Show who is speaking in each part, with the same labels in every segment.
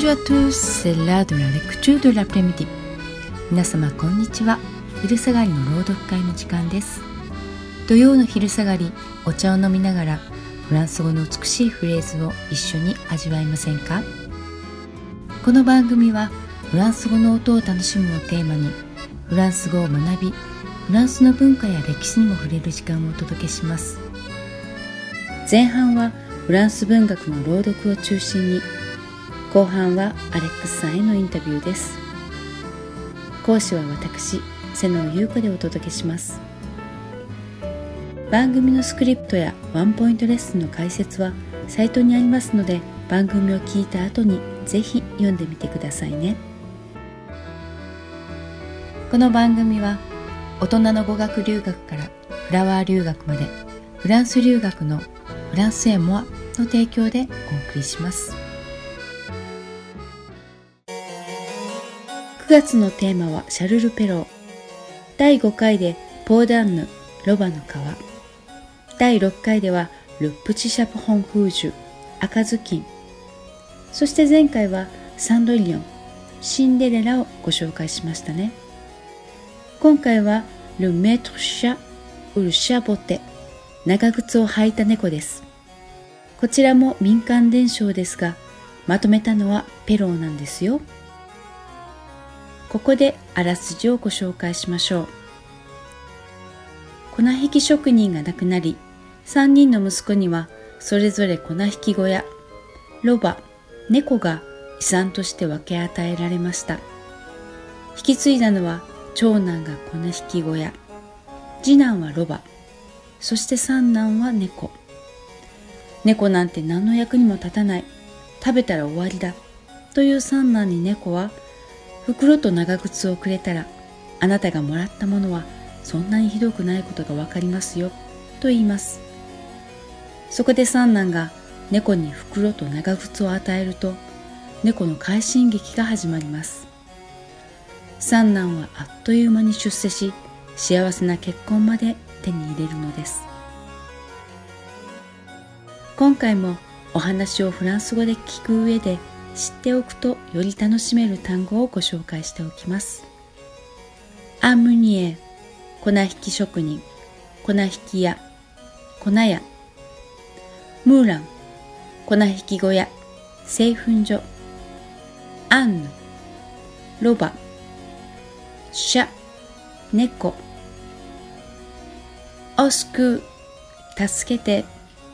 Speaker 1: Bonjour à tous, c'est l'heure de la lecture de l'après-midi. 皆様こんにちは。昼下がりの朗読会の時間です。土曜の昼下がり、お茶を飲みながらフランス語の美しいフレーズを一緒に味わいませんか？この番組はフランス語の音を楽しむをテーマに、フランス語を学び、フランスの文化や歴史にも触れる時間をお届けします。前半はフランス文学の朗読を中心に、後半はアレックスさんへのインタビューです。講師は私、瀬野優子でお届けします。番組のスクリプトやワンポイントレッスンの解説はサイトにありますので、番組を聞いた後にぜひ読んでみてくださいね。この番組は大人の語学留学からフラワー留学まで、フランス留学のフランスエモアの提供でお送りします。9月のテーマはシャルル・ペロー。第5回でポーダンヌ、ロバの川。第6回ではル・プチ・シャプホン・フージュ、赤ずきん。そして前回はサンドリオン、シンデレラをご紹介しましたね。今回はル・メートル・シャ、ウル・シャボテ、長靴を履いた猫です。こちらも民間伝承ですが、まとめたのはペローなんですよ。ここであらすじをご紹介しましょう。粉引き職人が亡くなり、3人の息子にはそれぞれ粉引き小屋、ロバ、猫が遺産として分け与えられました。引き継いだのは長男が粉引き小屋、次男はロバ、そして三男は猫。猫なんて何の役にも立たない、食べたら終わりだという三男に猫は、袋と長靴をくれたら、あなたがもらったものはそんなにひどくないことがわかりますよと言います。そこで三男が猫に袋と長靴を与えると、猫の快進撃が始まります。三男はあっという間に出世し、幸せな結婚まで手に入れるのです。今回もお話をフランス語で聞く上で、知っておくとより楽しめる単語をご紹介しておきます。アムニエ、粉引き職人、粉引き屋、粉屋。ムーラン、粉引き小屋、製粉所。アンヌ、ロバ。シャ、猫。オスク、助けて。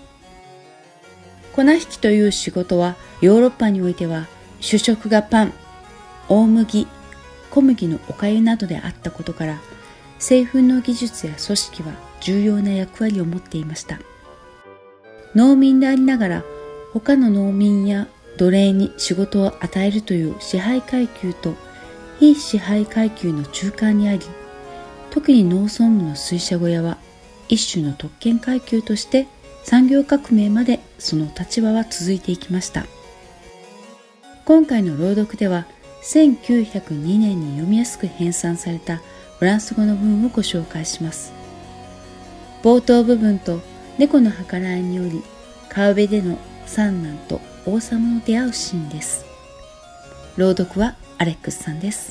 Speaker 1: 粉引きという仕事はヨーロッパにおいては主食がパン、大麦、小麦のお粥などであったことから、製粉の技術や組織は重要な役割を持っていました。農民でありながら他の農民や奴隷に仕事を与えるという支配階級と非支配階級の中間にあり、特に農村部の水車小屋は一種の特権階級として産業革命までその立場は続いていきました。今回の朗読では1902年に読みやすく編纂されたフランス語の文をご紹介します。冒頭部分と猫の計らいにより川辺での三男と王様の出会うシーンです。朗読はアレックスさんです。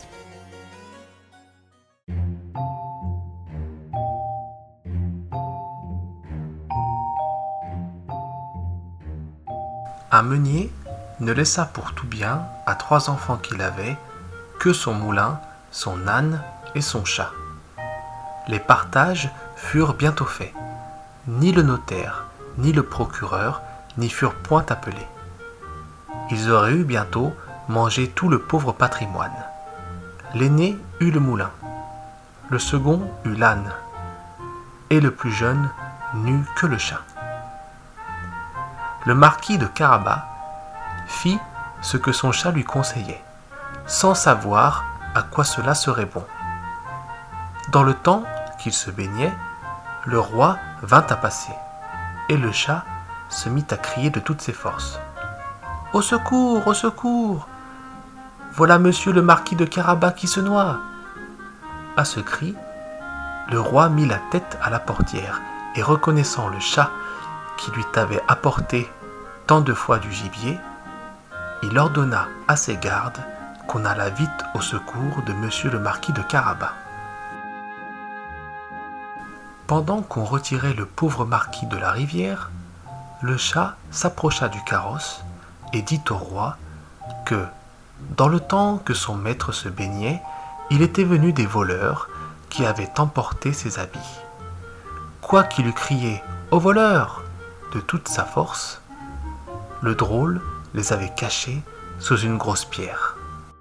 Speaker 2: Un meunier ne laissa pour tout bien à 3 enfants qu'il avait que son moulin, son âne et son chat. Les partages furent bientôt faits. Ni le notaire, ni le procureur n'y furent point appelés. Ils auraient eu bientôt mangé tout le pauvre patrimoine. L'aîné eut le moulin, le second eut l'âne, et le plus jeune n'eut que le chat. Le marquis de Carabas fit ce que son chat lui conseillait, sans savoir à quoi cela serait bon. Dans le temps qu'il se baignait, le roi vint à passer, et le chat se mit à crier de toutes ses forces. « Au secours, au secours! Voilà monsieur le marquis de Carabas qui se noie !» À ce cri, le roi mit la tête à la portière, et reconnaissant le chat qui lui avait apporté tant de fois du gibier, il ordonna à ses gardes qu'on allât vite au secours de monsieur le marquis de Carabas. Pendant qu'on retirait le pauvre marquis de la rivière, le chat s'approcha du carrosse et dit au roi que, dans le temps que son maître se baignait, il était venu des voleurs qui avaient emporté ses habits. Quoiqu'il eût crié « Aux voleurs !» de toute sa force, le drôle les avait cachés sous une grosse pierre.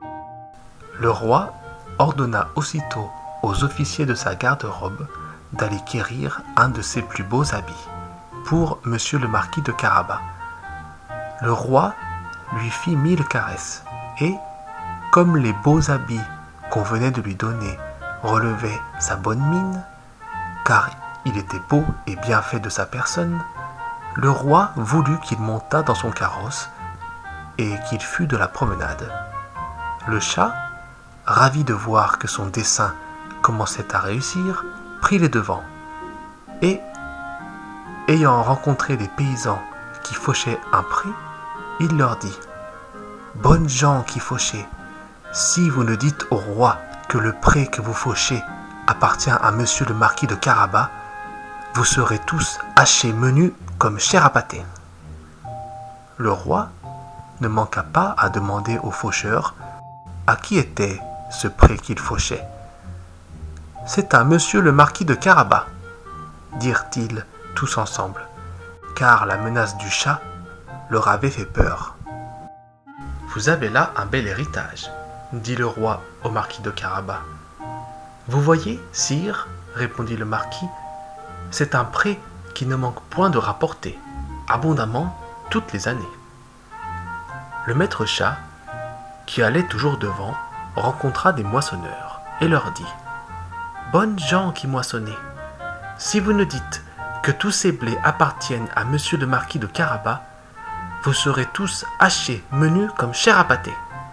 Speaker 2: Le roi ordonna aussitôt aux officiers de sa garde-robe d'aller quérir un de ses plus beaux habits pour monsieur le marquis de Carabas. Le roi lui fit 1000 caresses et, comme les beaux habits qu'on venait de lui donner relevaient sa bonne mine, car il était beau et bien fait de sa personne, le roi voulut qu'il montât dans son carrosse et qu'il fût de la promenade. Le chat, ravi de voir que son dessein commençait à réussir, prit les devants et, ayant rencontré des paysans qui fauchaient un pré, il leur dit « Bonnes gens qui fauchez, si vous ne dites au roi que le pré que vous fauchez appartient à monsieur le marquis de Carabas, vous serez tous hachés menus comme chair à pâté. » Le roi ne manqua pas à demander aux faucheurs à qui était ce pré qu'il fauchait. « C'est à monsieur le marquis de Carabas, dirent-ils tous ensemble, car la menace du chat leur avait fait peur. « Vous avez là un bel héritage, dit le roi au marquis de Carabas. « Vous voyez, sire, répondit le marquis, c'est un pré qui ne manque point de rapporter, abondamment, toutes les années. » Le maître chat, qui allait toujours devant, rencontra des moissonneurs et leur dit « Bonnes gens qui moissonnez, si vous ne dites que tous ces blés appartiennent à monsieur le marquis de Carabas, vous serez tous hachés, menus comme chair à pâté. »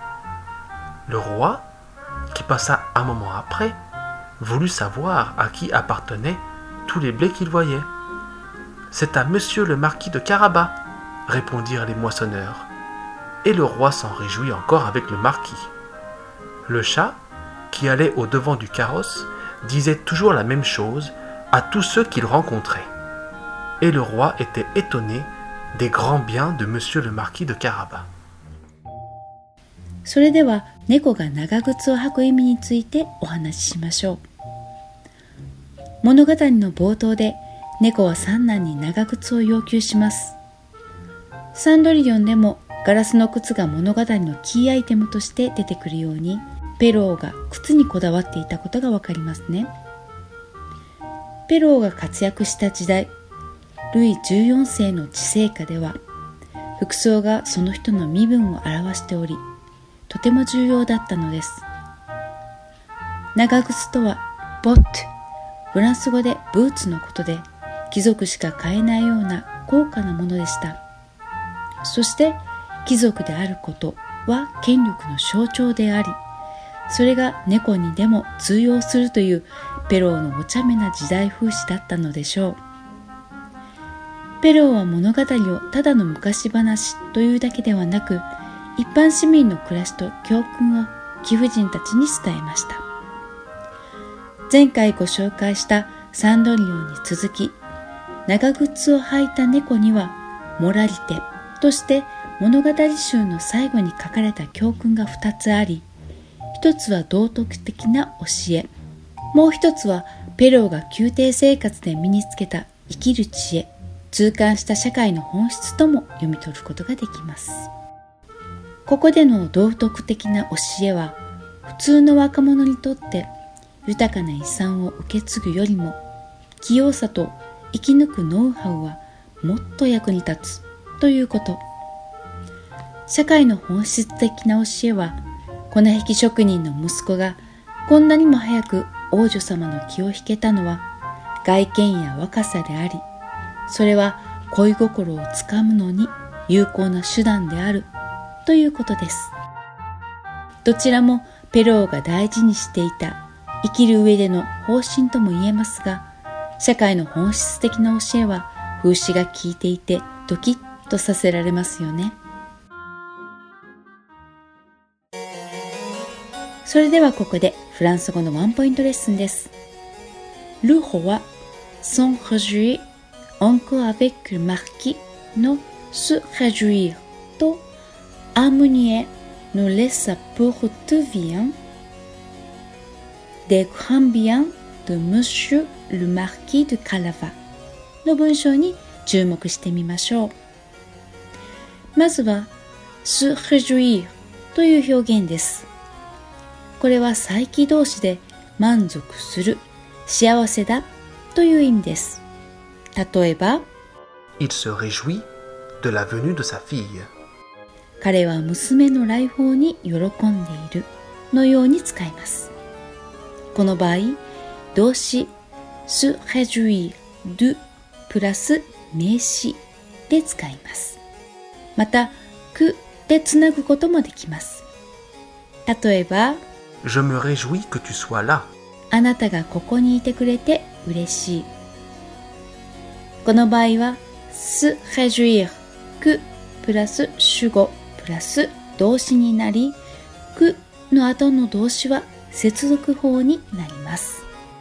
Speaker 2: Le roi, qui passa un moment après, voulut savoir à qui appartenaient tous les blés qu'il voyait. « C'est à monsieur le marquis de Carabas, répondirent les moissonneurs, et le roi s'en réjouit encore avec le marquis. Le chat, qui allait au devant du carrosse, disait toujours la même chose à tous ceux qu'il rencontrait. Et le roi était étonné des grands biens de monsieur le marquis de Carabas.
Speaker 1: それでは猫が長靴を履く意味についてお話ししましょう。物語の冒頭で猫は三男に長靴を要求します。サンドリオンでもガラスの靴が物語のキーアイテムとして出てくるように、ペローが靴にこだわっていたことがわかりますね。ペローが活躍した時代、ルイ14世の治世下では、服装がその人の身分を表しており、とても重要だったのです。長靴とはボット、フランス語でブーツのことで、貴族しか買えないような高価なものでした。そして貴族であることは権力の象徴であり、それが猫にでも通用するというペローのお茶目な時代風刺だったのでしょう。ペローは物語をただの昔話というだけではなく、一般市民の暮らしと教訓を貴婦人たちに伝えました。前回ご紹介したサンドリオンに続き、長靴を履いた猫にはモラリテとして物語集の最後に書かれた教訓が2つあり、一つは道徳的な教え、もう一つはペローが宮廷生活で身につけた生きる知恵、痛感した社会の本質とも読み取ることができます。ここでの道徳的な教えは、普通の若者にとって豊かな遺産を受け継ぐよりも、器用さと生き抜くノウハウはもっと役に立つということ。社会の本質的な教えは、粉引き職人の息子がこんなにも早く王女様の気を引けたのは外見や若さであり、それは恋心をつかむのに有効な手段であるということです。どちらもペローが大事にしていた生きる上での方針とも言えますが、社会の本質的な教えは風刺が効いていてドキッとさせられますよね。 それではここでフランス語のワンポイントレッスンです。Le roi s'en réjouit encore avec le marquisのse réjouir と Amunier nous laissa pour tout bien des grands biens de Monsieur le Marquis de Calava の文章に注目してみましょう。まずは se réjouir という表現です。これは再起動詞で満足する、幸せだという意味です。例えば、
Speaker 2: Il se réjouit de la venue de sa fille.
Speaker 1: 彼は娘の来訪に喜んでいるのように使います。この場合、動詞 se réjouir de プラス名詞で使います。また、que でつなぐこともできます。例えば、
Speaker 2: Je me réjouis que tu sois là.
Speaker 1: あなたがここにいてくれて嬉しい。この場合は se réjouir que プラス主語プラス動詞になり que の後の動詞は接続法になります。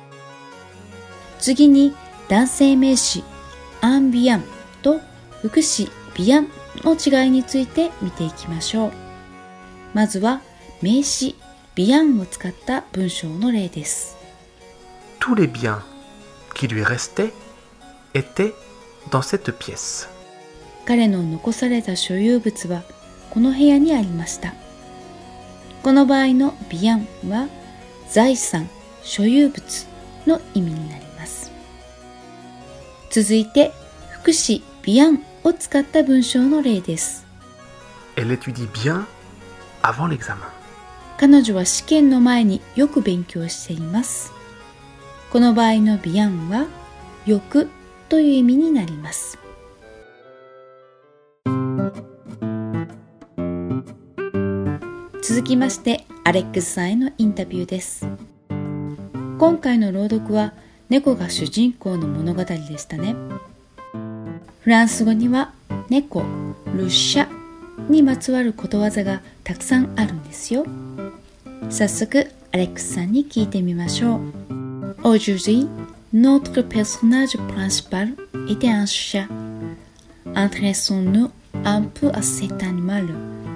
Speaker 1: 次に男性名詞アンビアンと副詞ビアンの違いについて見ていきましょう。まずは名詞ビアンを使った文章の例です。
Speaker 2: Tous les biens qui lui restaient étaient dans cette pièce.
Speaker 1: 彼の残された所有物はこの部屋にありました。この場合のビアンは財産、所有物の意味になります。続いて副詞ビアンを使った文章の例です。
Speaker 2: Elle étudie bien avant l'examen.
Speaker 1: 彼女は試験の前によく勉強しています。この場合のビアンはよくという意味になります。続きましてアレックスさんへのインタビューです。今回の朗読は猫が主人公の物語でしたね。フランス語には猫、ルシャにまつわることわざがたくさんあるんですよ。早速アレックスさんに聞いてみましょう。Aujourd'hui, notre personnage principal était un chat. Intéressons-nous un peu à cet animal.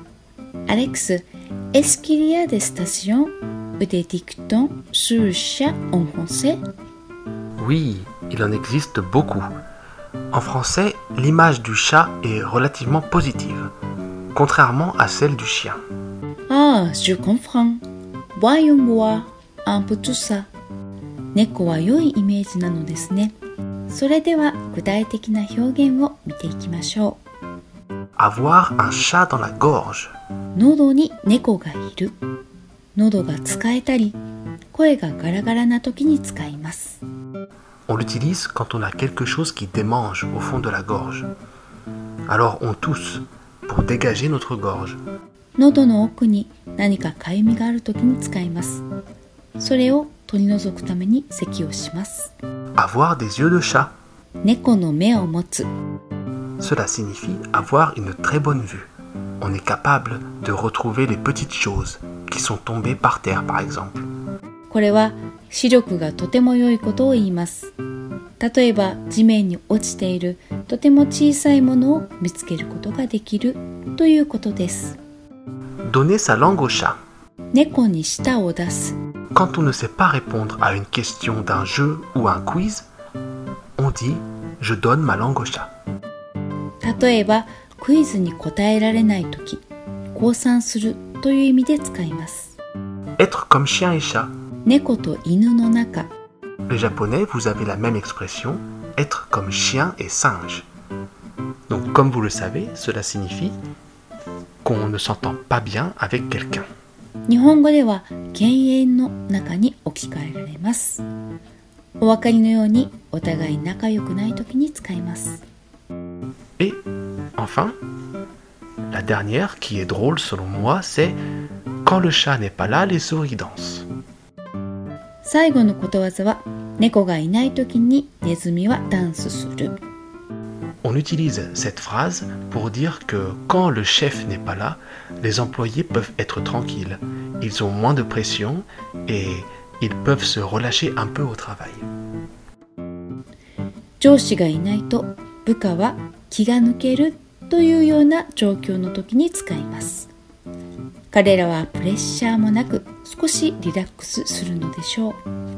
Speaker 1: Alex, est-ce qu'il y a des stations ou des dictons sur le chat en français?
Speaker 2: Oui, il en existe beaucoup. En français, l'image du chat est relativement positive, contrairement à celle du chien.
Speaker 1: Ah, je comprends. Voyons voir un peu tout ça. 猫は良いイメージなのですね。それでは具体的な表現を見ていきましょう。
Speaker 2: Avoir un chat dans la gorge.
Speaker 1: 喉に猫がいる。喉が使えたり、声がガラガラな時に使います。
Speaker 2: On l'utilise quand on a quelque chose qui démange au fond de la gorge. Alors on tousse pour dégager notre gorge.
Speaker 1: 喉の奥に何かかゆみがある時に使います。それを取り除くために咳をします。
Speaker 2: Avoir des yeux de chat.
Speaker 1: 猫の目を持つ。
Speaker 2: Cela signifie avoir une très bonne vue. On est capable de retrouver les petites choses qui sont tombées par terre, par exemple.
Speaker 1: これは視力がとても良いことを言います。例えば地面に落ちているとても小さいものを見つけることができるということです。
Speaker 2: Donner sa langue au chat.
Speaker 1: 猫に舌を出す。
Speaker 2: Quand on ne sait pas répondre à une question d'un jeu ou un quiz, on dit « je donne ma langue au chat ».
Speaker 1: 例えばクイズに答えられないとき、降参するという意味で使います。
Speaker 2: Être comme chien et chat.
Speaker 1: 猫と犬の中。
Speaker 2: Les japonais, vous avez la même expression, être comme chien et singe. Donc comme vous le savez, cela signifie qu'on ne s'entend pas bien avec quelqu'un.
Speaker 1: 日本語では犬猿の中に置き換えられます。お分かりのようにお互い仲良くないときに使います。
Speaker 2: Et enfin, la dernière qui est drôle selon moi, c'est quand le chat n'est pas là, les souris dansent.
Speaker 1: 最後のことわざは猫がいないときにネズミはダンスする。
Speaker 2: On utilise cette phrase pour dire que quand le chef n'est pas là, les employés peuvent être tranquilles. Ils ont moins de pression et ils peuvent se relâcher un peu au travail.
Speaker 1: 上司がいないと部下は気が抜けるというような状況の時に使います。彼らはプレッシャーもなく少しリラックスするのでしょう。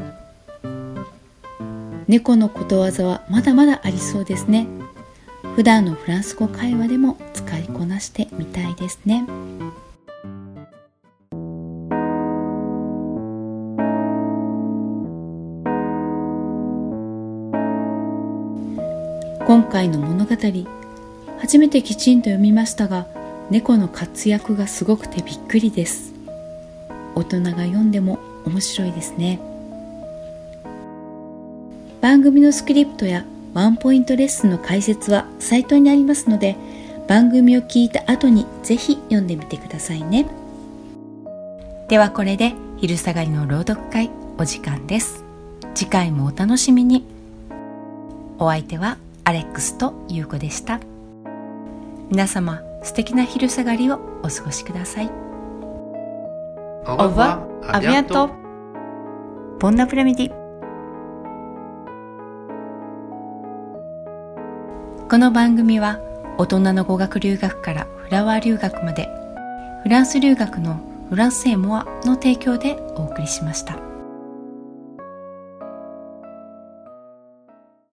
Speaker 1: 猫のことわざはまだまだありそうですね。普段のフランス語会話でも使いこなしてみたいですね。今回の物語、初めてきちんと読みましたが、猫の活躍がすごくてびっくりです。大人が読んでも面白いですね。番組のスクリプトやワンポイントレッスンの解説はサイトにありますので、番組を聞いた後にぜひ読んでみてくださいね。ではこれで昼下がりの朗読会お時間です。次回もお楽しみに。お相手はアレックスとユウコでした。皆様素敵な昼下がりをお過ごしください。
Speaker 2: Au revoir, à bientôt.
Speaker 1: Bon après-midi。この番組は大人の語学留学からフラワー留学までフランス留学のフランセーモアの提供でお送りしました。